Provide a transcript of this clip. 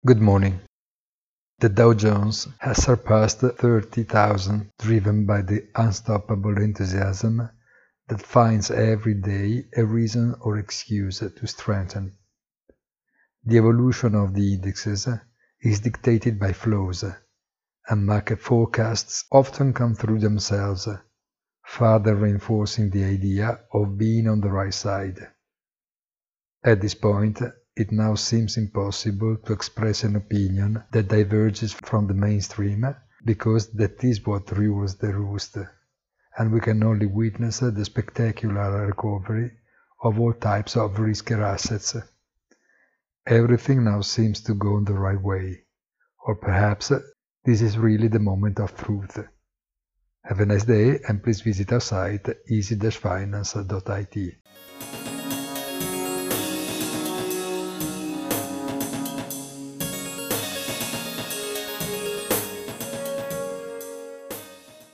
Good morning. The Dow Jones has surpassed 30,000, driven by the unstoppable enthusiasm that finds every day a reason or excuse to strengthen. The evolution of the indexes is dictated by flows, and market forecasts often come through themselves, further reinforcing the idea of being on the right side. At this point, it now seems impossible to express an opinion that diverges from the mainstream, because that is what rules the roost, and we can only witness the spectacular recovery of all types of riskier assets. Everything now seems to go in the right way, or perhaps this is really the moment of truth. Have a nice day, and please visit our site easy-finance.it.